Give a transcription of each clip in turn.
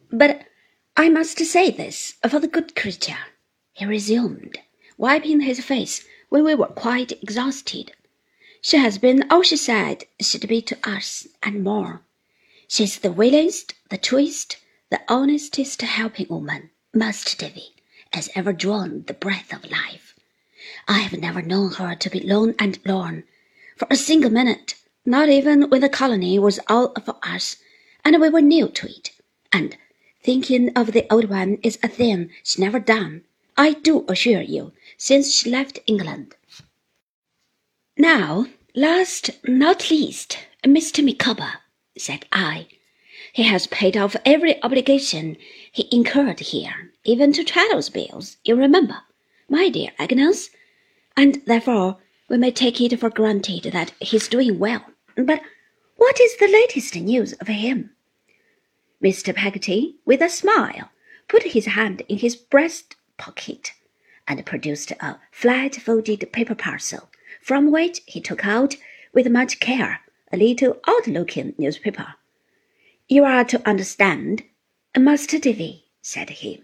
But I must say this for the good creature, he resumed, wiping his face when we were quite exhausted. She has been all she said she'd be to us, and more. She's the willingest, the truest, the honestest helping woman, Master Davy, has ever drawn the breath of life. I have never known her to be lone and lorn, for a single minute, not even when the colony was all for us, and we were new to it. And thinking of the old one is a thing she's never done, I do assure you, since she left England. Now, last not least, Mr. Micawber, said I. He has paid off every obligation he incurred here, even to Traddles' bills, you remember, my dear Agnes, and therefore we may take it for granted that he's doing well. But what is the latest news of him? Mr. Peggotty, with a smile, put his hand in his breast pocket and produced a flat-folded paper parcel, from which he took out, with much care, a little odd-looking newspaper. You are to understand, Master Davy, said he,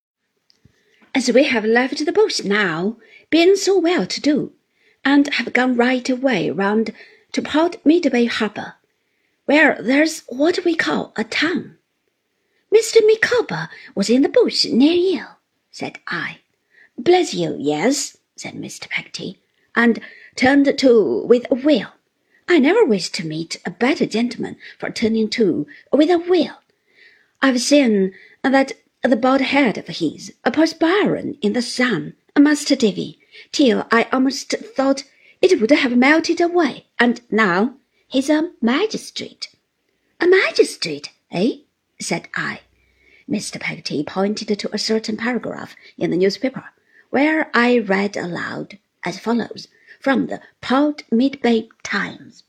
as we have left the bush now, being so well-to-do, and have gone right away round to Port Midway Harbour, where there's what we call a town. Mr. Micawber was in the bush near you, said I. Bless you, yes, said Mr. Peggotty, and turned to with a will. I never wish to meet a better gentleman for turning to with a will. I've seen that the bald head of his perspiring in the sun, Master Davy, till I almost thought it would have melted away, and now he's a magistrate. A magistrate, eh? Said I. Mr. Peggotty pointed to a certain paragraph in the newspaper, where I read aloud as follows, from the Port Midway Times.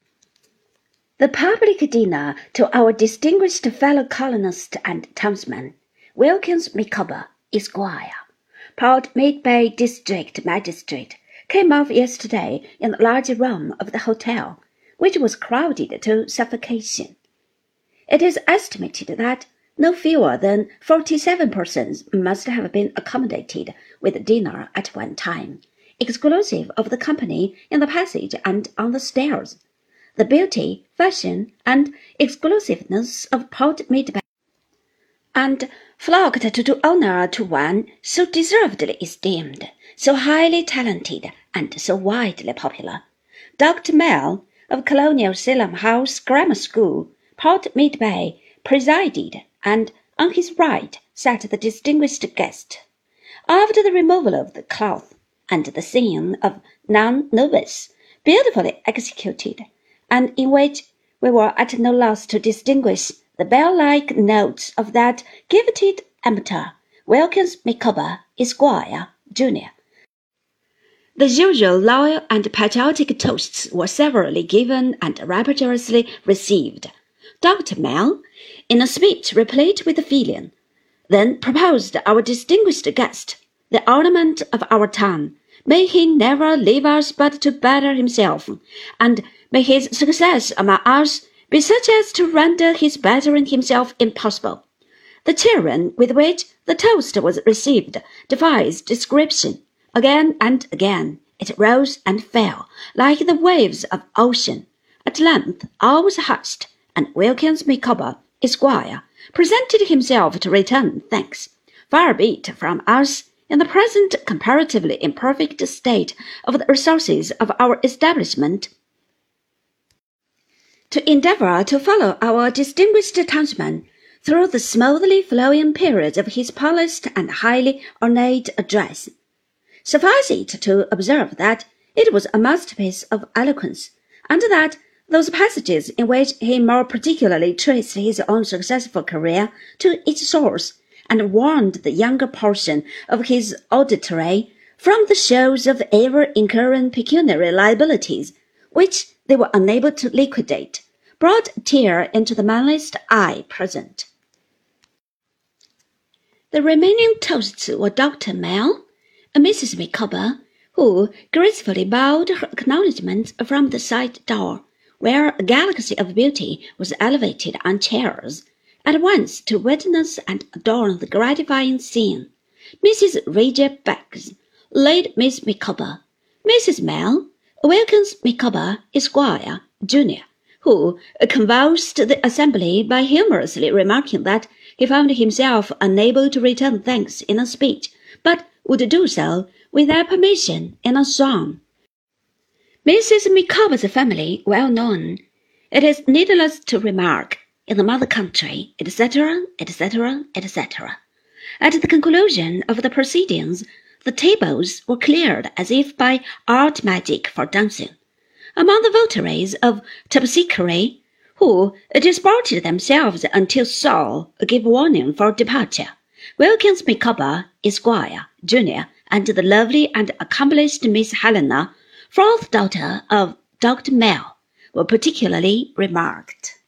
The public dinner to our distinguished fellow colonist and townsman, Wilkins Micawber, Esquire, Port Midway District Magistrate, came off yesterday in the large room of the hotel, which was crowded to suffocation. It is estimated that no fewer than 47 persons must have been accommodated with dinner at one time, exclusive of the company in the passage and on the stairs. The beauty, fashion, and exclusiveness of Port Midway, and flocked to do honour to one so deservedly esteemed, so highly talented, and so widely popular. Dr. Mell, of Colonial Salem House Grammar School, Port Midway, presided, and on his right sat the distinguished guest. After the removal of the cloth, and the singing of Non Nobis, beautifully executed, and in which we were at no loss to distinguish the bell-like notes of that gifted amateur, Wilkins Micawber, Esquire, Jr. The usual loyal and patriotic toasts were severally given and rapturously received. Dr. Mell, in a speech replete with feeling, then proposed our distinguished guest, the ornament of our town. May he never leave us but to better himself, and may his success among us be such as to render his bettering himself impossible. The cheering with which the toast was received defies description. Again and again it rose and fell like the waves of ocean. At length all was hushed, and Wilkins Micawber, Esquire, presented himself to return thanks. Far be it from us, in the present comparatively imperfect state of the resources of our establishment, to endeavour to follow our distinguished townsman through the smoothly flowing period of his polished and highly ornate address. Suffice it to observe that it was a masterpiece of eloquence, and that those passages in which he more particularly traced his own successful career to its source, and warned the younger portion of his auditory from the shows of ever-incurring pecuniary liabilities, which they were unable to liquidate, brought a tear into the manliest eye present. The remaining toasts were Dr. Mell, Mrs. Micawber, who gracefully bowed her acknowledgments from the side door, where a galaxy of beauty was elevated on chairs, at once to witness and adorn the gratifying scene. Mrs. Raja Beggs, late Miss Micawber, Mrs. Mell, Wilkins Micawber, Esquire, Jr., who convulsed the assembly by humorously remarking that he found himself unable to return thanks in a speech, but would do so, with their permission, in a song. Mrs. Micawber's family well known, it is needless to remark, in the mother country, etc., etc., etc. At the conclusion of the proceedings, the tables were cleared as if by art magic for dancing. Among the votaries of Terpsichore, who disported themselves until Saul gave warning for departure, Wilkins Micawber, Esquire, Jr., and the lovely and accomplished Miss Helena, fourth daughter of Dr. Mell, were particularly remarked.